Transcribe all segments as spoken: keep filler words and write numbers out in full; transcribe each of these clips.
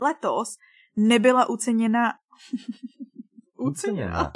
letos nebyla uceněna... uceněna.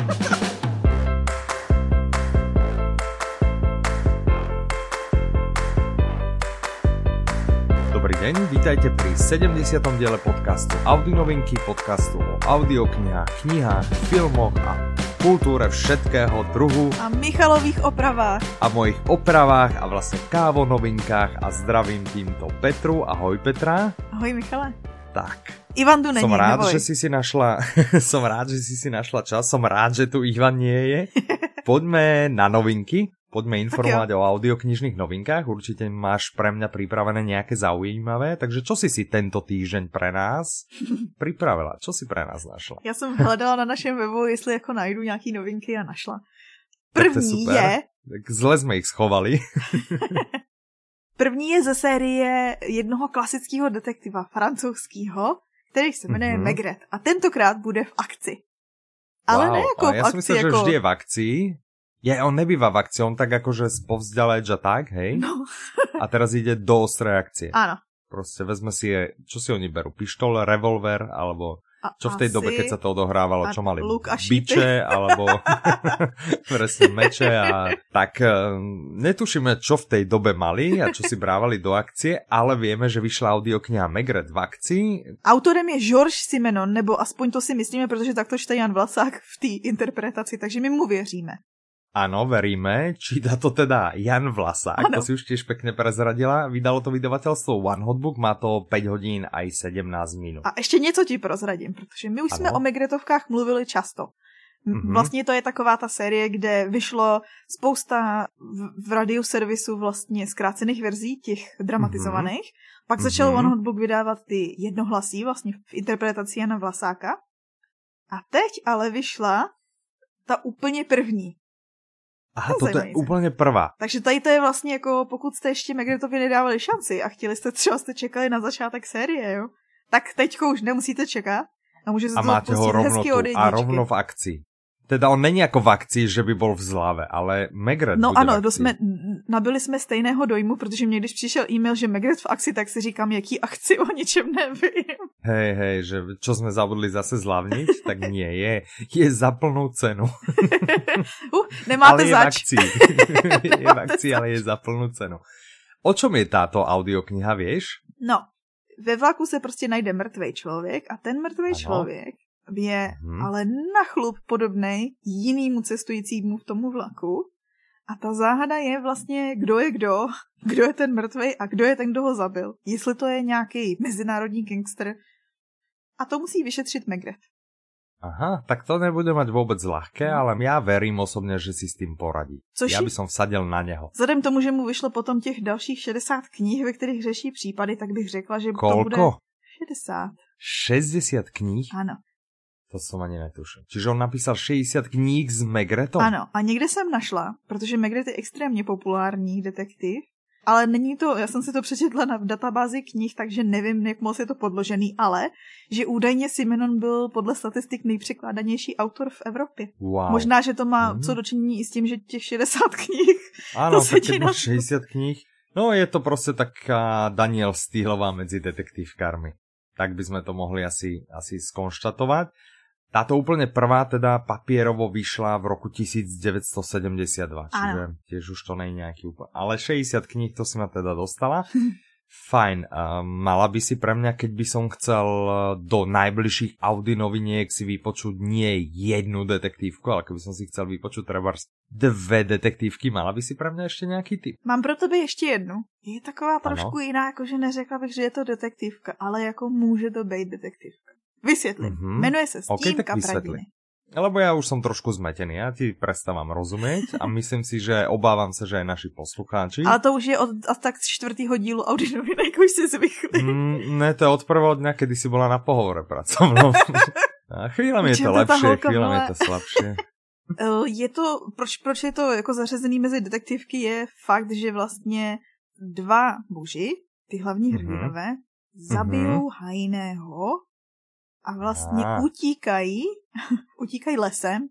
Dobrý deň, vítajte pri sedemdesiatom diele podcastu Audionovinky, podcastu o audioknihách, knihách, filmoch a kultúre všetkého druhu. A Michalových opravách. A mojich opravách a vlastne kávonovinkách a zdravím týmto Petru. Ahoj Petra. Ahoj Michale. Tak. Ivan tu není, som rád, neboj. že si si našla, som rád, že si si našla čas, som rád, že tu Ivan nie je. Poďme na novinky. Poďme informovať o audioknižných novinkách. Určite máš pre mňa pripravené nejaké zaujímavé. Takže čo si si tento týždeň pre nás pripravila? Čo si pre nás našla? Já jsem hledala na našem webu, jestli jako najdu nějaký novinky a našla. První je... je... Tak zle jsme ich schovali. První je ze série jednoho klasického detektiva francouzského, který se jmenuje mm-hmm. Maigret. A tentokrát bude v akci. Ale wow, ne jako v ja akci. som myslel, jako... že vždy je v akcii. Je, on nebýva v akcii, on tak akože spovzdaleč a tak, hej? No. A teraz ide do ostrej akcie. Áno. Proste vezme si, je, čo si oni berú? Pištol, revolver, alebo a, čo v tej asi... dobe, keď sa to odohrávalo, čo mali? Luk a biče, alebo presne meče a tak. Netušíme, čo v tej dobe mali a čo si brávali do akcie, ale vieme, že vyšla audiokniha Maigret v akcii. Autorem je Georges Simenon, nebo aspoň to si myslíme, protože takto čte Jan Vlasák v té interpretaci, takže my mu věříme. Áno, veríme. Číta to teda Jan Vlasák, ano. To si už tiež pekne prezradila. Vydalo to vydavateľstvo One Hot Book, má to päť hodín aj sedemnásť minút. A ještě něco ti prozradím, protože my už ano. jsme o Maigretovkách mluvili často. Mm-hmm. Vlastně to je taková ta série, kde vyšlo spousta v, v radioservisu vlastně zkrácených verzí, těch dramatizovaných. Mm-hmm. Pak začal mm-hmm. One Hot Book vydávat ty jednohlasí vlastně v interpretaci Jana Vlasáka. A teď ale vyšla ta úplně první. Aha, to toto je úplně prvá. Takže tady to je vlastně jako, pokud jste ještě Maigretovi nedávali šanci a chtěli jste, třeba jste čekali na začátek série, jo, tak teďko už nemusíte čekat a můžete se to pustit hezky od jedničky. A rovno v akcii. Teda on není jako v akcii, že by bol v zlave, ale Maigret no bude ano, v akcii. Jsme, nabili jsme stejného dojmu, protože mě když přišel e-mail, že Maigret v akci, tak si říkám, jaký akci, o ničem nevím. Hej, hej, že čo sme zabudli zase zľavniť, tak nie je. Je za plnú cenu. uh, nemáte ale zač. Je v akcii. Je v akcii, ale je za plnú cenu. O čom je táto audiokniha, vieš? No, ve vlaku se prostě najde mrtvej člověk a ten mrtvej člověk je hmm. ale na chlup podobnej jinýmu cestujícímu v tomu vlaku. A ta záhada je vlastně, kdo je kdo, kdo je ten mrtvej a kdo je ten, kdo ho zabil. Jestli to je nějaký mezinárodní gangster. A to musí vyšetřit Maigret. Aha, tak to nebude mať vôbec ľahké, ale ja verím osobne, že si s tým poradí. Což ja by som vsadil na neho. Vzhledem tomu, že mu vyšlo potom těch dalších šedesát knih, ve kterých řeší případy, tak bych řekla, že Koľko? to bude šedesát. šesťdesiat kníh? Ano. To som ani netušil. Čiže on napísal šedesát kníh s Maigretom? Ano, a někde jsem našla, protože Maigret je extrémně populární detektiv, ale není to, já jsem si to přečetla na databázi knih, takže nevím, jak moc je to podložený, ale že údajně Simenon byl podle statistik nejpřekládanější autor v Evropě. Wow. Možná, že to má mm. co dočinění i s tím, že těch šedesát knih. Áno, tak keď máš šesťdesiat kníh, no je to prostě taká Daniel Stihlová medzi detektívkármi. Tak by sme to mohli asi, asi skonštatovať. Táto úplne prvá teda papierovo vyšla v roku devätnásťstosedemdesiatdva, čiže áno. Tiež už to nie je nejaký úplne... Ale šesťdesiat kníh, to si ma teda dostala. Fajn, uh, mala by si pre mňa, keď by som chcel do najbližších Audi-noviniek si vypočuť nie jednu detektívku, ale keby som si chcel vypočuť treba dve detektívky, mala by si pre mňa ešte nejaký tip? Mám pro tebe ještě jednu. Je taková trošku ano. jiná, jakože neřekla bych, že je to detektívka, ale jako může to být detektívka. Vysvětlím. Mm-hmm. Jmenuje se Stínka okay, Pradiny. Lebo ja už som trošku zmetený, ja ti prestávam rozumieť a myslím si, že obávam sa, že aj naši poslucháči. Ale to už je od tak čtvrtýho dílu Audionovinek, už si zvykli. Mm, ne, to je od prvého dňa, kedy si bola na pohovore pracovnom. A chvíľami je to lepšie, chvíľami je to slabšie. Je to, proč, proč je to jako zařazený mezi detektivky, je fakt, že vlastně dva muži, ty hlavní hrdinové, mm-hmm. zabijou mm-hmm. hajného a vlastně ah. utíkají, utíkají lesem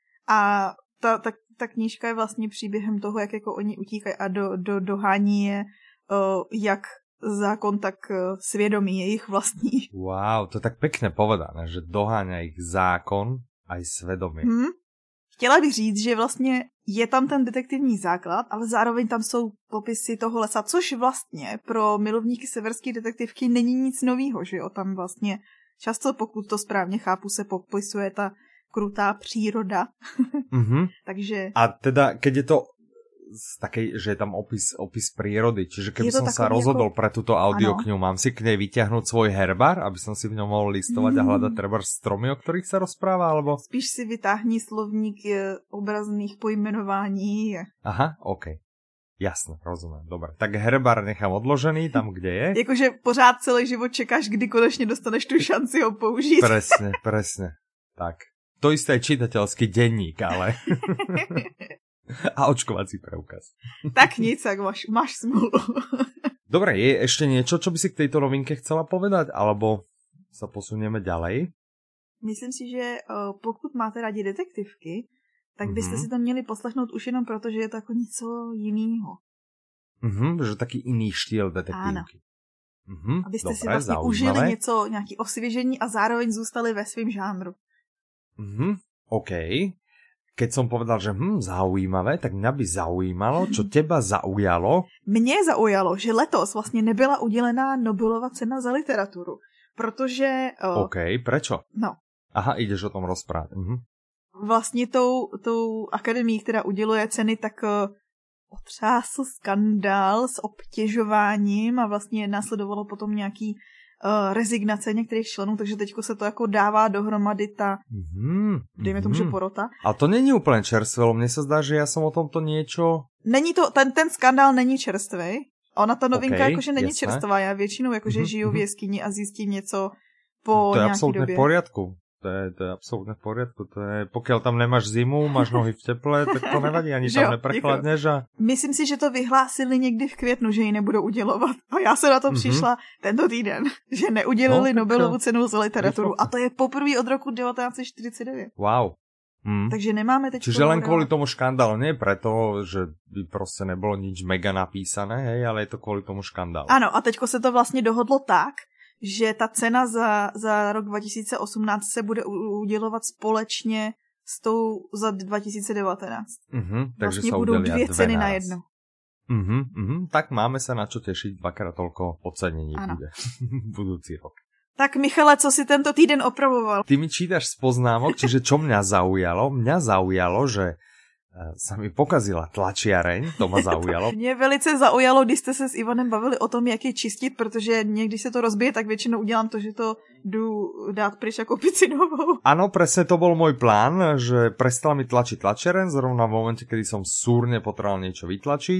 a ta, ta, ta knížka je vlastně příběhem toho, jak jako oni utíkají a do, do, dohání je, uh, jak zákon, tak svědomí jejich vlastní. Wow, to je tak pekne povedané, že doháňa ich zákon aj svědomí. Hmm. Chtěla bych říct, že vlastně je tam ten detektivní základ, ale zároveň tam jsou popisy toho lesa, což vlastně pro milovníky severské detektivky není nic novýho, že jo? Tam vlastně často, pokud to správně chápu, se popisuje ta krutá příroda. Mm-hmm. Takže... A teda, keď je to z takej, že je tam opis, opis prírody, čiže keby som sa rozhodol ako... pre túto audioknihu, mám si k nej vyťahnuť svoj herbár, aby som si v ňom mohol listovať mm. a hľadať treba stromy, o ktorých sa rozpráva, alebo... Spíš si vytáhni slovník obrazných pojmenování. Aha, okej. Okay. Jasne, rozumiem, dobre. Tak herbár nechám odložený tam, kde je. Jakože pořád celý život čekáš, kdy konečne dostaneš tu šanci ho použiť. Presne, presne. Tak. To isté je čitateľský denník, ale... A očkovací preukaz. Tak nic, ak máš, máš smolu. Dobre, je ešte niečo, čo by si k tejto novinke chcela povedať? Alebo sa posunieme ďalej? Myslím si, že uh, pokud máte rádi detektivky, tak byste mm-hmm. si to měli poslechnout už jenom proto, že je to ako něco jinýho. Mhm, že taký iný štýl detektívky. Mhm, abyste dobre, si vlastně zaujímavé. užili něco, nějaký osvěžení a zároveň zůstali ve svým žánru. Mhm, OK. Keď som povedal, že hm, zaujímavé, tak mňa by zaujímalo, čo teba zaujalo. Mně zaujalo, že letos vlastně nebyla udělená Nobelova cena za literaturu, protože... Uh, OK, prečo? No. Aha, ideš o tom rozprávať. Mhm. Vlastně tou, tou akademií, která uděluje ceny, tak uh, otřásl skandál s obtěžováním a vlastně následovalo potom nějaký Uh, rezignace některých členů, takže teďko se to jako dává dohromady ta, mm-hmm. dejme tomu, že porota. Ale to není úplně čerstvé, mně se zdá, že já jsem o tomto niečo... Není to, ten, ten skandál není čerstvý. Ona ta novinka okay, jakože není jasné. Čerstvá, já většinou jakože mm-hmm. žiju v jeskyni a zjistím něco po to nějaký době. To je absolutně v poriadku. To je, to je absolútne v poriadku. To je, pokiaľ tam nemáš zimu, máš nohy v teple, tak to nevadí, ani tam neprechladneš. A... Myslím si, že to vyhlásili někdy v květnu, že ji nebudou udělovat. A já se na to mm-hmm. přišla tento týden, že neudělili no, Nobelovu cenu za literaturu. A to je poprvé od roku devätnásť štyridsaťdeväť. Wow. Mm. Takže nemáme teď... Čiže len kvôli tomu škandálu, nie preto, že by proste nebolo nič mega napísané, hej, ale je to kvôli tomu škandálu. Ano, a teďko se to vlastně dohodlo tak, že ta cena za, za rok dva tisíce osmnáct se bude udělovat společně s tou za dva tisíce devätnásť. Uh-huh, takže vlastně sa budou dvě ceny naraz. na jedno. Uh-huh, uh-huh, tak máme sa na čo tešiť, dvakrát toľko ocenení bude budúci rok. Tak Michale, co si tento týden opravoval? Ty mi čítaš z poznámok, čiže čo mňa zaujalo? Mňa zaujalo, že sa mi pokazila tlačiareň, to ma zaujalo. Mě velice zaujalo, když jste se s Ivanem bavili o tom, jak je čistit, protože mě, když se to rozbije, tak většinou udělám to, že to jdu dát pryč ako picinovou. Áno, presne to bol môj plán, že prestala mi tlačiť tlačiareň, zrovna v momente, kedy som súrne potreboval niečo vytlačiť.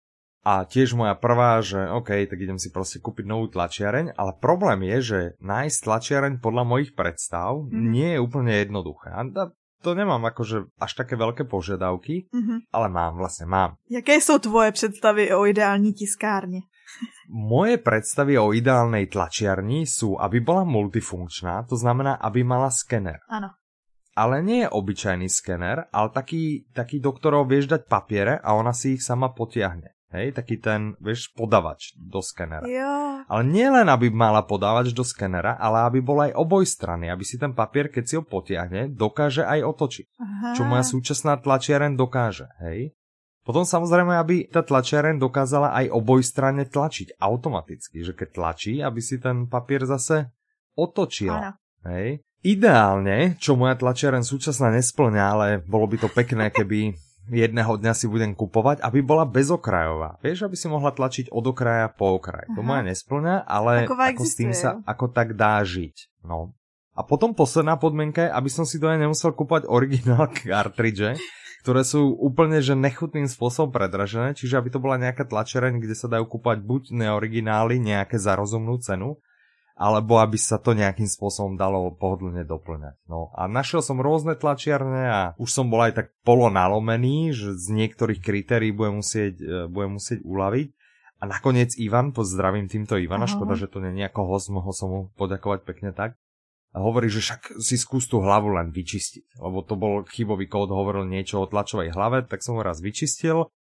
A tiež moja prvá, že OK, tak idem si proste kúpiť novú tlačiareň, ale problém je, že nájsť tlačiareň podľa mojich predstav mm. nie je úplne jednoduché. A to nemám akože až také veľké požiadavky, mm-hmm. ale mám, vlastne mám. Jaké sú tvoje predstavy o ideální tiskárni? Moje predstavy o ideálnej tlačiarni sú, aby bola multifunkčná, to znamená, aby mala skener. Áno. Ale nie je obyčajný skener, ale taký, taký, do ktorého vieš dať papiere a ona si ich sama potiahne. Hej, taký ten, vieš, podavač do skenera. Jo. Ale nie len, aby mala podávač do skenera, ale aby bol aj obojstranný, aby si ten papier, keď si ho potiahne, dokáže aj otočiť. Aha. Čo moja súčasná tlačiareň dokáže, hej. Potom samozrejme, aby tá tlačiareň dokázala aj obojstranne tlačiť automaticky, že keď tlačí, aby si ten papier zase otočila. Áno. Hej. Ideálne, čo moja tlačiareň súčasná nesplňa, ale bolo by to pekné, keby jedného dňa si budem kupovať, aby bola bezokrajová. Vieš, aby si mohla tlačiť od okraja po okraj. Aha. To moja nesplňa, ale Taková ako existuje, s tým sa jo? ako tak dá žiť. No. A potom posledná podmienka je, aby som si do nej nemusel kúpať originál cartridge, ktoré sú úplne že nechutným spôsobom predražené, čiže aby to bola nejaká tlačereň, kde sa dajú kúpať buď neoriginály, nejaké za rozumnú cenu, alebo aby sa to nejakým spôsobom dalo pohodlne doplňať. No a našiel som rôzne tlačiarne a už som bol aj tak polo nalomený, že z niektorých kritérií budem musieť, budem musieť uľaviť. A nakoniec Ivan, pozdravím týmto Ivana, Aha. škoda, že to nie je nejako host, mohol som mu poďakovať pekne tak. A hovorí, že však si skús tú hlavu len vyčistiť, lebo to bol chybový kód, hovoril niečo o tlačovej hlave, tak som ho raz vyčistil.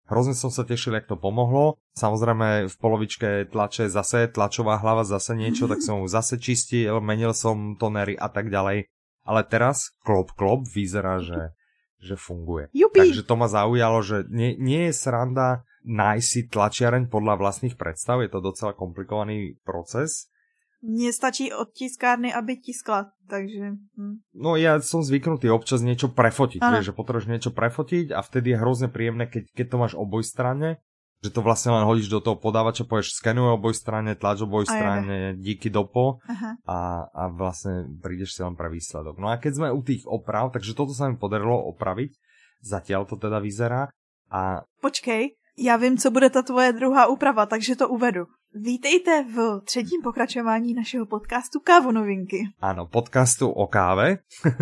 Hrozne som sa tešil, jak to pomohlo. Samozrejme v polovičke tlače zase, tlačová hlava zase niečo, tak som ju zase čistil, menil som tonery a tak ďalej. Ale teraz klop klop vyzerá, že, že funguje. Jupi. Takže to ma zaujalo, že nie, nie je sranda nájsť si tlačiareň podľa vlastných predstav, je to docela komplikovaný proces. Mne stačí od tiskárny, aby tiskla, takže... Hm. No ja som zvyknutý občas niečo prefotiť, vieš, že potrebuješ niečo prefotiť a vtedy je hrozne príjemné, keď, keď to máš obojstranne, že to vlastne len hodíš do toho podávača, povieš skenuj obojstranne, tlač obojstranne, díky dopo a, a vlastne prídeš si len pre výsledok. No a keď sme u tých oprav, takže toto sa mi podarilo opraviť, zatiaľ to teda vyzerá a... Počkej, já vím, co bude ta tvoje druhá úprava, takže to uvedu. Vítejte v třetím pokračování našeho podcastu Kávonovinky. Áno, podcastu o káve.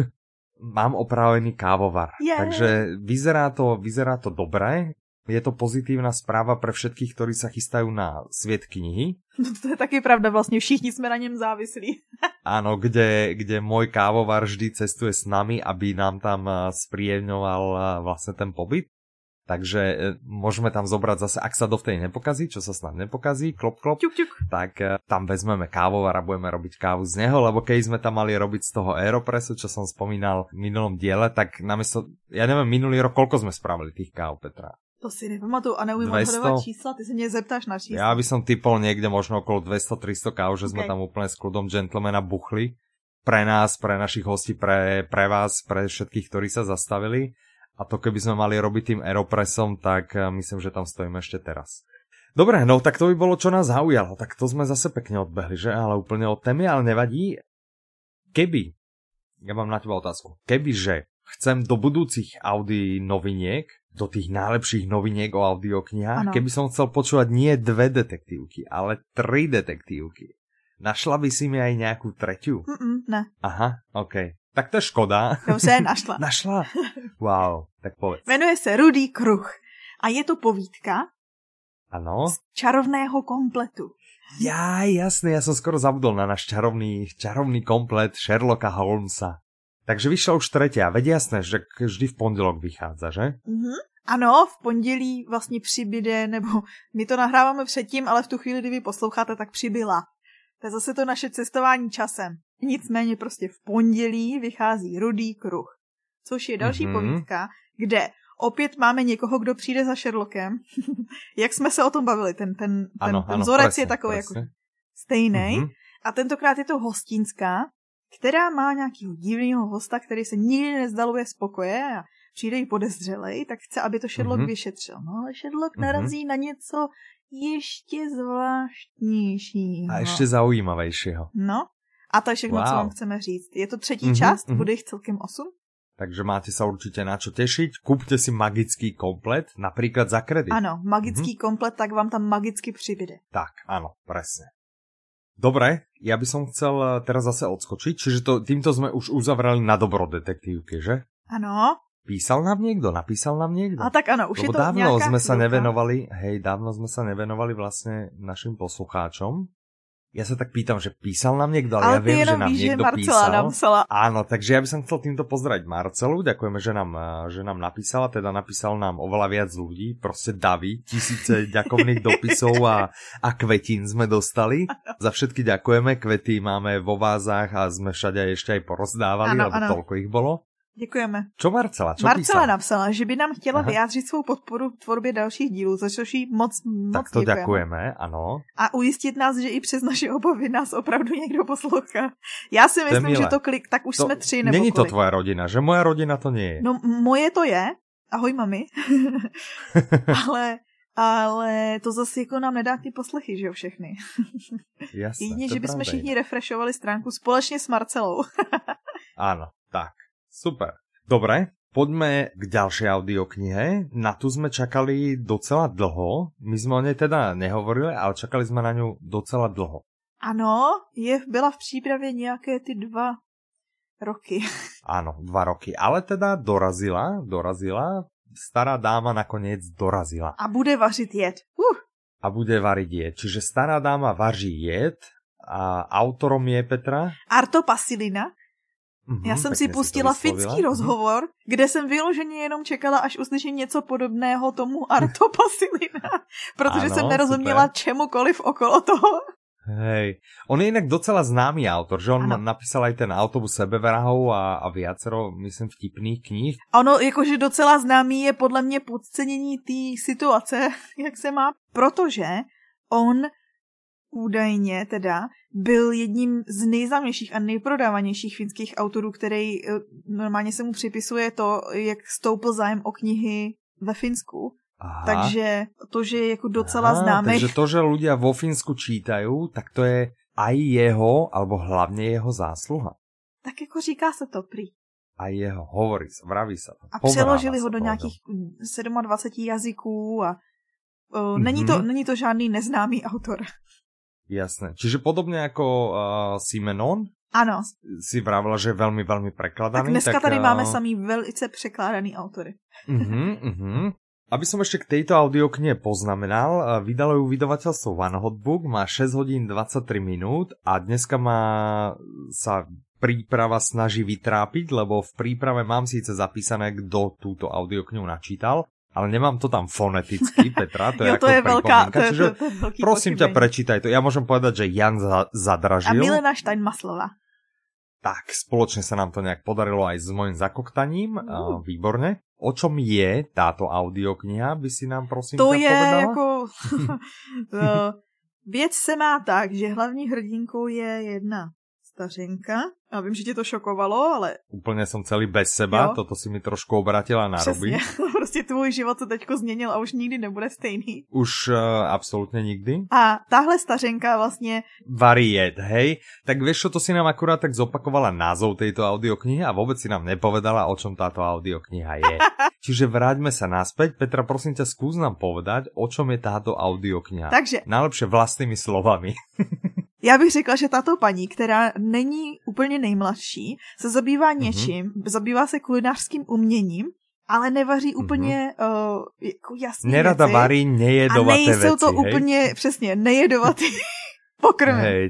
Mám opravený kávovar. Yeah. Takže vyzerá to, vyzerá to dobre. Je to pozitívna správa pre všetkých, ktorí sa chystajú na sviet knihy. No to je taky pravda, vlastne všichni sme na ňom závislí. Áno, kde, kde môj kávovar vždy cestuje s nami, aby nám tam spríjemňoval vlastne ten pobyt. Takže e, môžeme tam zobrať zase, ak sa dovtedy nepokazí, čo sa snad nepokazí, klop, klop, ťuk, ťuk. tak e, tam vezmeme kávovar a budeme robiť kávu z neho, lebo keď sme tam mali robiť z toho Aeropressu, čo som spomínal v minulom diele, tak namiesto, ja neviem, minulý rok, koľko sme spravili tých káv, Petra? To si nepamatuju a neumím odhadovať čísla, ty sa mne zeptáš na čísla. Ja by som typol niekde možno okolo dvesto tristo káv, že okay. Sme tam úplne s kľudom gentlemana buchli. Pre nás, pre našich hostí, pre, pre vás, pre všetkých, ktorí sa zastavili. A to keby sme mali robiť tým Aeropressom, tak myslím, že tam stojíme ešte teraz. Dobre, no tak to by bolo, čo nás zaujalo. Tak to sme zase pekne odbehli, že? Ale úplne od témy, ale nevadí. Keby, ja mám na teba otázku, kebyže chcem do budúcich Audi noviniek, do tých najlepších noviniek o audioknihách, keby som chcel počúvať nie dve detektívky, ale tri detektívky. Našla by si mi aj nejakú tretiu? Mm-mm, ne. Aha, okej. Okay. Tak to je škoda. Dobře, našla. Našla? Wow, tak povedz. Jmenuje se Rudý kruh a je to povídka ano? Z čarovného kompletu. Ja, jasné, ja som skoro zabudol na náš čarovný, čarovný komplet Sherlocka Holmesa. Takže vyšla už tretia, veď jasné, že vždy v pondelok vychádza, že? Mhm. Ano, v pondělí vlastně přibyde, nebo my to nahráváme předtím, ale v tu chvíli, kdy vy posloucháte, tak přibyla. To je zase to naše cestování časem. Nicméně prostě v pondělí vychází Rudý kruh, což je další mm-hmm. povídka, kde opět máme někoho, kdo přijde za Sherlockem. Jak jsme se o tom bavili, ten, ten, ten, ano, ten ano, vzorec presne, je takový presne. jako stejný. Mm-hmm. A tentokrát je to hostinská, která má nějakého divného hosta, který se nikdy nezdaluje spokoje a přijde jí podezřelej, tak chce, aby to Sherlock mm-hmm. vyšetřil. No ale Sherlock mm-hmm. narazí na něco ještě zvláštnějšího. A ještě zaujímavejšího. No, a to je všechno, wow. Co vám chceme říct. Je to třetí mm-hmm, část, mm-hmm. bude jich celkem osm. Takže máte sa určite na čo tešiť. Kúpte si magický komplet, napríklad za kredit. Áno, magický mm-hmm. komplet, tak vám tam magicky přibyde. Tak, áno, presne. Dobre, ja by som chcel teraz zase odskočiť, čiže to, týmto sme už uzavrali na dobro detektívke, že? Áno. Písal nám niekto? Napísal nám niekto? A tak áno, už Lebo je to dávno nejaká sme chvíľka. sa nevenovali, hej, dávno sme sa nevenovali vlastne našim poslucháčom. Ja sa tak pýtam, že písal nám niekto, ale, ale ja viem, že nám víš, niekto že písal. Napísala. Áno, takže ja by som chcel týmto pozdraviť Marcelu, ďakujeme, že nám, že nám napísala, teda napísal nám oveľa viac ľudí, proste davy, tisíce ďakovných dopisov a, a kvetín sme dostali. Ano. Za všetky ďakujeme, kvety máme vo vázách a sme všade ešte aj porozdávali, ano, lebo ano. Toľko ich bolo. Děkujeme. Čo Marcela? Čo Marcela písala? napsala, že by nám chtěla Aha. vyjádřit svou podporu v tvorbě dalších dílů, za což jí moc, moc tak to děkujeme. děkujeme, ano. A ujistit nás, že i přes naše obavy nás opravdu někdo poslouchá. Já si myslím, že to klik, tak už to, jsme tři nebo není kolik. to tvoja rodina, že moja rodina to nie je. No moje to je, ahoj mami, ale... Ale to zase jako nám nedá ty poslechy, že jo, všechny. Jasné, Jedině, že bychom všichni refreshovali stránku společně s Marcelou. Áno, tak, super. Dobre, poďme k ďalšej audioknihe. Na tu sme čakali docela dlho. My sme o nej teda nehovorili, ale čakali sme na ňu docela dlho. Ano, je, byla v přípravě nějaké ty dva roky. Áno, dva roky. Ale teda dorazila, dorazila. Stará dáma nakoniec dorazila. A bude vařit jed. Uh. A bude variť jed. Čiže stará dáma vaří jed a autorom je Petra? Arto Pasilina. Mm-hmm, Já jsem si pustila si finský rozhovor, mm-hmm. kde jsem vyloženě jenom čekala, až uslyším něco podobného tomu Arto Pasilina, protože ano, jsem nerozuměla super. Čemukoliv okolo toho. Hej, on je inak docela známy autor, že on ano. napísal aj ten Autobus sebevrahov a, a viacero, myslím, vtipných knih. Ono, jakože docela známý je podle mě podcenění té situace, jak se má, protože on údajně teda byl jedním z nejznámějších a nejprodávanějších finských autorů, který normálně se mu připisuje to, jak stoupl zájem o knihy ve Finsku. Aha. Takže to, že je jako docela Aha, známý. Takže to, že ľudia vo Fínsku čítajú, tak to je aj jeho, alebo hlavne jeho zásluha. Tak jako říká se to prý. A jeho, hovorí sa, vraví sa to. A přeložili ho do nějakých dvacet sedm jazyků a uh, mm-hmm. není, to, není to žádný neznámý autor. Jasné. Čiže podobne ako uh, Simenon? Ano. Si vravila, že je veľmi, veľmi prekladaný. Tak dneska tak, tady uh... máme samý velice překládaný autory. Mhm, mhm. Aby som ešte k tejto audioknihe poznamenal, vydalo ju vydavateľstvo One Hot Book, má šesť hodín dvadsaťtri minút a dneska má sa príprava snaží vytrápiť, lebo v príprave mám síce zapísané, kto túto audioknihu načítal, ale nemám to tam foneticky, Petra, to je jo, to ako je veľká, to je, čiže to, to je veľký prosím pochybení. Ťa, prečítaj to. Ja môžem povedať, že Jan Zadražil. A Milena Steinmaslova. Tak, spoločne sa nám to nejak podarilo aj s mojím zakoktaním, mm. uh, výborne. O čom je táto audiokniha, by si nám prosím to ťa je povedala? Jako... Věc se má tak, že hlavní hrdinkou je jedna stařenka. Já vím, že tě to šokovalo, ale... Úplně jsem celý bez seba, jo. Toto si mi trošku obratila na ruby. Prostě tvůj život se teďko změnil a už nikdy nebude stejný. Už uh, absolutně nikdy. A tahle stařenka vlastně... Variet, hej? Tak vieš čo, to si nám akurát tak zopakovala názov tejto audioknihy a vôbec si nám nepovedala, o čom táto audiokniha je. Čiže vráťme sa naspäť. Petra, prosím ťa, skús nám povedať, o čom je táto audiokniha. Takže... Najlepšie vlastnými slovami. Já bych řekla, že tato paní, která není úplně nejmladší, se zabývá něčím, mm-hmm. zabývá se kulinářským uměním, ale nevaří úplně mm-hmm. uh, jako jasný Nerada věci. varí nejedovaté věci. A nejsou to hej? úplně, přesně, nejedovatý pokrmy. Hej.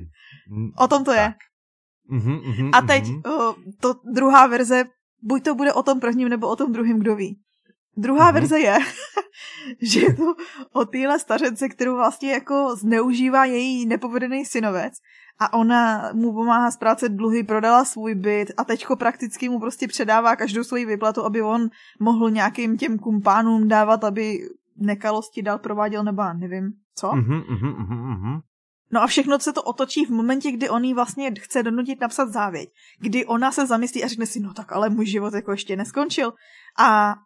O tom to tak. je. Mm-hmm, mm-hmm, A teď uh, to druhá verze, buď to bude o tom prvním, nebo o tom druhém, kdo ví. Druhá mm-hmm. verze je, že je to o téhle stařence, kterou vlastně jako zneužívá její nepovedený synovec a ona mu pomáhá splácet dluhy, prodala svůj byt a teďko prakticky mu prostě předává každou svoji výplatu, aby on mohl nějakým těm kumpánům dávat, aby nekalosti dál prováděl, nebo nevím co. Mm-hmm, mm-hmm, mm-hmm. No a všechno se to otočí v momentě, kdy on jí vlastně chce donutit napsat závěť. Kdy ona se zamyslí a řekne si, no tak ale můj život jako ještě neskončil. A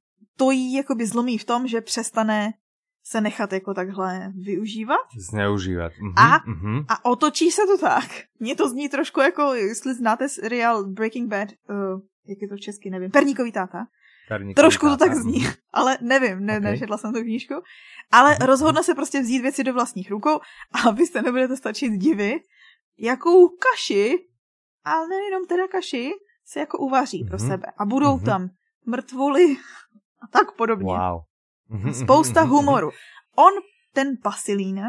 to jí jakoby zlomí v tom, že přestane se nechat jako takhle využívat. Zneužívat. Mhm, a, mhm. a otočí se to tak. Mně to zní trošku jako, jestli znáte seriál Breaking Bad, uh, jak je to česky, nevím, Perníkový táta. Perníkový trošku táta. to tak zní, ale nevím, ne, okay. Nečetla jsem tu knížku. Ale mhm. rozhodne se prostě vzít věci do vlastních rukou a vy se nebudete stačit divit, jakou kaši, ale nejenom teda kaši, se jako uvaří mhm. pro sebe. A budou mhm. tam mrtvoly a tak podobně. Wow. Spousta humoru. On, ten Pasilín,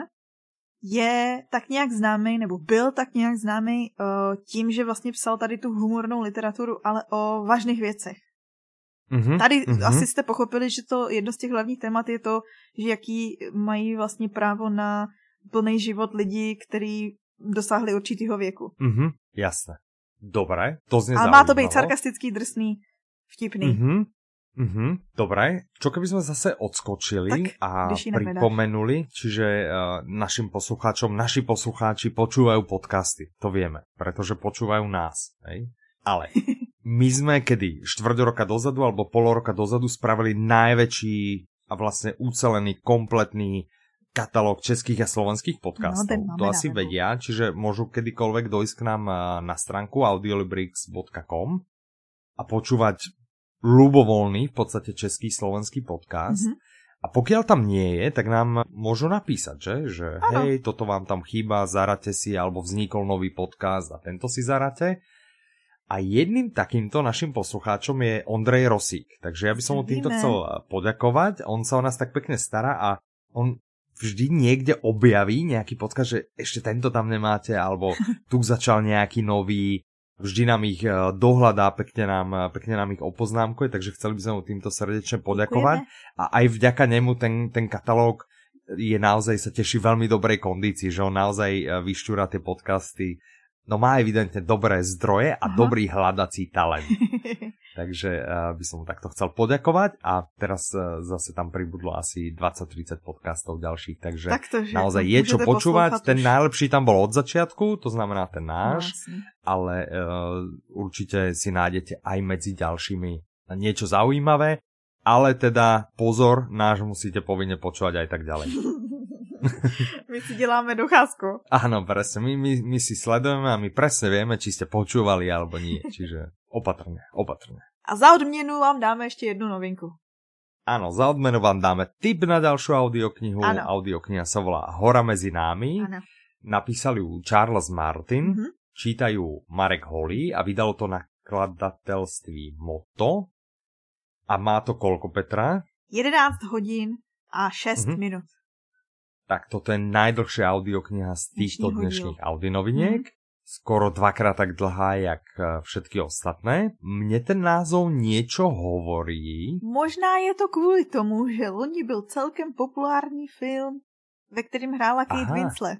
je tak nějak známý, nebo byl tak nějak známý uh, tím, že vlastně psal tady tu humornou literaturu, ale o vážných věcech. Mm-hmm, tady mm-hmm. asi jste pochopili, že to jedno z těch hlavních témat je to, že jaký mají vlastně právo na plný život lidí, kteří dosáhli určitého věku. Mm-hmm, jasné. Dobré, to znie ale má to být sarkastický, drsný, vtipný. Mm-hmm. Mhm, dobre. Čo keby sme zase odskočili tak, a pripomenuli, čiže uh, našim poslucháčom, naši poslucháči počúvajú podcasty, to vieme, pretože počúvajú nás, hej? Ale my sme kedy štvrť roka dozadu alebo pol roka dozadu spravili najväčší a vlastne ucelený, kompletný katalóg českých a slovenských podcastov. No, to asi návedu. Vedia, čiže môžu kedykoľvek dojsť k nám na stránku audiolibrix bodka com a počúvať ľubovoľný, v podstate český, slovenský podcast. Mm-hmm. A pokiaľ tam nie je, tak nám môžu napísať, že? Že ano. Hej, toto vám tam chýba, zarate si, alebo vznikol nový podcast a tento si zarate. A jedným takýmto našim poslucháčom je Ondrej Rosík. Takže ja by som mu týmto chcel poďakovať. On sa o nás tak pekne stará a on vždy niekde objaví nejaký podcast, že ešte tento tam nemáte, alebo tu začal nejaký nový. vždy nám ich dohľadá, pekne nám, pekne nám ich opoznámkuje, takže chceli by sme mu týmto srdečne poďakovať. Ďakujeme. A aj vďaka nemu ten, ten katalóg je naozaj, sa teší veľmi dobrej kondícii, že on naozaj vyšťúra tie podcasty. No má evidentne dobré zdroje a Aha. dobrý hľadací talent. Takže uh, by som mu takto chcel poďakovať a teraz uh, zase tam pribudlo asi dvadsať tridsať podcastov ďalších, takže Taktože, naozaj je čo počúvať. Ten už. Najlepší tam bol od začiatku, to znamená ten náš, no, ale uh, určite si nájdete aj medzi ďalšími niečo zaujímavé, ale teda pozor, náš musíte povinne počúvať aj tak ďalej. My si děláme docházku. Áno, presne, my, my, my si sledujeme a my presne vieme, či ste počúvali alebo nie, čiže opatrne, opatrne. A za odměnu vám dáme ještě jednu novinku. Áno, za odmenu vám dáme tip na ďalšiu audioknihu. Ano. Audiokniha sa volá Hora medzi námi. Ano. Napísal ju Charles Martin, mm-hmm. čítajú Marek Holý a vydalo to nakladateľství Moto. A má to koľko, Petra? jedenásť hodín a šesť mm-hmm. minút. Tak toto je najdlhšia audiokniha z týchto dnešných audionoviniek. Mm. Skoro dvakrát tak dlhá, jak všetky ostatné. Mne ten názov niečo hovorí. Možná je to kvůli tomu, že loni byl celkem populární film, ve kterým hrála Kate Winslet.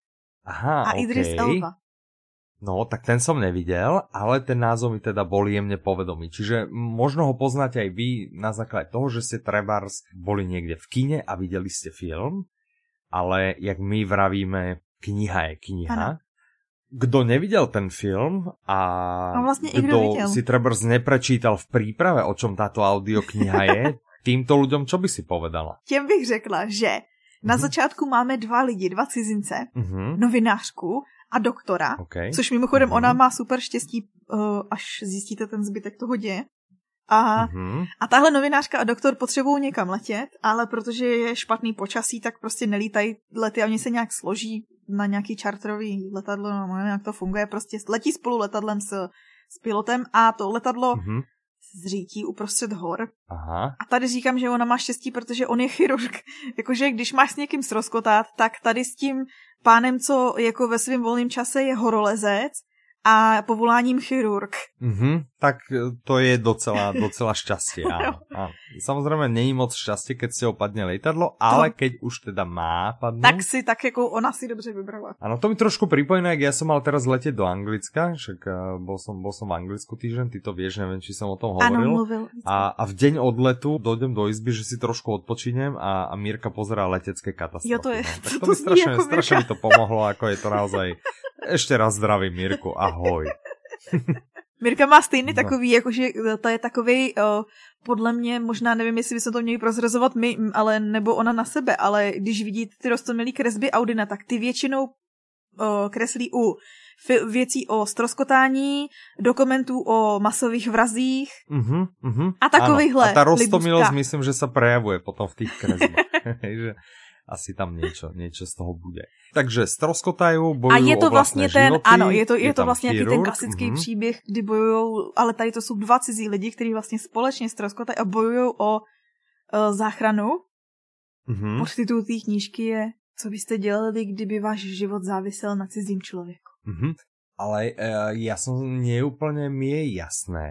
Aha, a okay. Idris Elba. No, tak ten som nevidel, ale ten názov mi teda bol jemne povedomý. Čiže možno ho poznáte aj vy na základe toho, že ste trebárs boli niekde v kine a videli ste film. Ale jak my vravíme, kniha je kniha. Ano. Kdo nevidel ten film a, a vlastne kdo si trebárs neprečítal v príprave, o čom táto audiokniha je, týmto ľuďom čo by si povedala? Těm bych řekla, že na uh-huh. začátku máme dva lidi, dva cizince, uh-huh. novinářku a doktora, okay. což mimochodem uh-huh. ona má super štěstí, uh, až zjistíte ten zbytek toho děje. A, mm-hmm. a tahle novinářka a doktor potřebují někam letět, ale protože je špatný počasí, tak prostě nelítají lety a oni se nějak složí na nějaký čartrový letadlo, no nevím, jak to funguje, prostě letí spolu letadlem s, s pilotem a to letadlo mm-hmm. zřítí uprostřed hor. Aha. A tady říkám, že ona má štěstí, protože on je chirurg. Jakože když máš s někým srozkotát, tak tady s tím pánem, co jako ve svém volném čase je horolezec, a povoláním chirurg. Mhm, tak to je docela, docela šťastie. Áno, áno. Samozrejme, nie je moc šťastie, keď si opadne lietadlo, ale to... keď už teda má padnúť. Tak si, tak ako ona si dobře vybrala. Áno, to mi trošku pripomína, jak ja som mal teraz letieť do Anglicka, však uh, bol som, bol som v Anglicku týždeň, ty to vieš, neviem, či som o tom hovoril. Áno, mluvil. A, a v deň odletu dojdem do izby, že si trošku odpočinem a, a Mírka pozerá letecké katastrofy. Jo, to je. No. Tak to, to mi strašne, strašne mi to pomohlo, ako je to naozaj. Ešte raz zdravím, Mirku, ahoj. Mirka má stejný takový, jakože to je takovej, uh, podle mě, možná nevím, jestli bychom to měli prozrazovat my, ale nebo ona na sebe, ale když vidíte ty roztomilý kresby Audina, tak ty většinou uh, kreslí u fi- věcí o stroskotání, dokumentů o masových vrazích uh-huh, uh-huh. a takovýchhle. A ta roztomilosť myslím, že sa prejavuje potom v tých kresbách. Že asi tam niečo, niečo z toho bude. Takže stroskotajú, bojujú a je to o vlastne ten, životy, áno, je to, je je to vlastne chirurg, ten klasický mm-hmm. příběh, kdy bojujú, ale tady to sú dva cizí lidi, ktorí vlastne společne stroskotajú a bojujú o uh, záchranu. Mm-hmm. Podtitul té knížky je Co byste dělali, kdyby váš život závisel na cizím člověku. Mm-hmm. Ale uh, ja som nie úplne mi je jasné,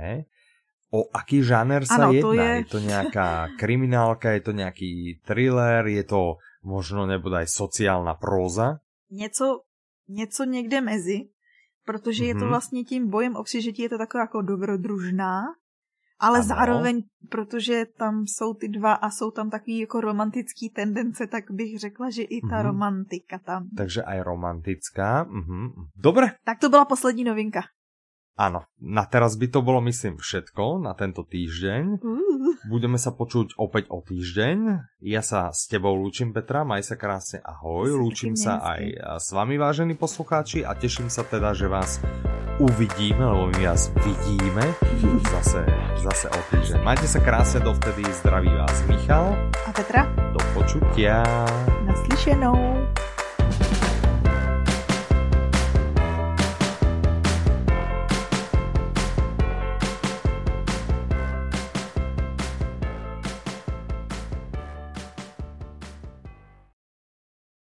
o aký žáner sa ano, jedná. Je... je to nejaká kriminálka, je to nejaký thriller, je to možno nebude aj sociálna próza? Něco, něco někde mezi, protože mm-hmm. je to vlastně tím bojem o přežití, je to taková jako dobrodružná, ale ano. zároveň, protože tam jsou ty dva a jsou tam takový jako romantický tendence, tak bych řekla, že i ta mm-hmm. romantika tam. Takže aj romantická. Mm-hmm. Dobre. Tak to byla poslední novinka. Áno, na teraz by to bolo, myslím, všetko na tento týždeň. Uh. Budeme sa počuť opäť o týždeň. Ja sa s tebou lúčim, Petra, maj sa krásne, ahoj. Lúčim sa aj s vami, vážení poslucháči, a teším sa teda, že vás uvidíme, lebo my vás vidíme zase, zase o týždeň. Majte sa krásne, dovtedy zdraví vás Michal a Petra. Do počutia. Naslyšenou.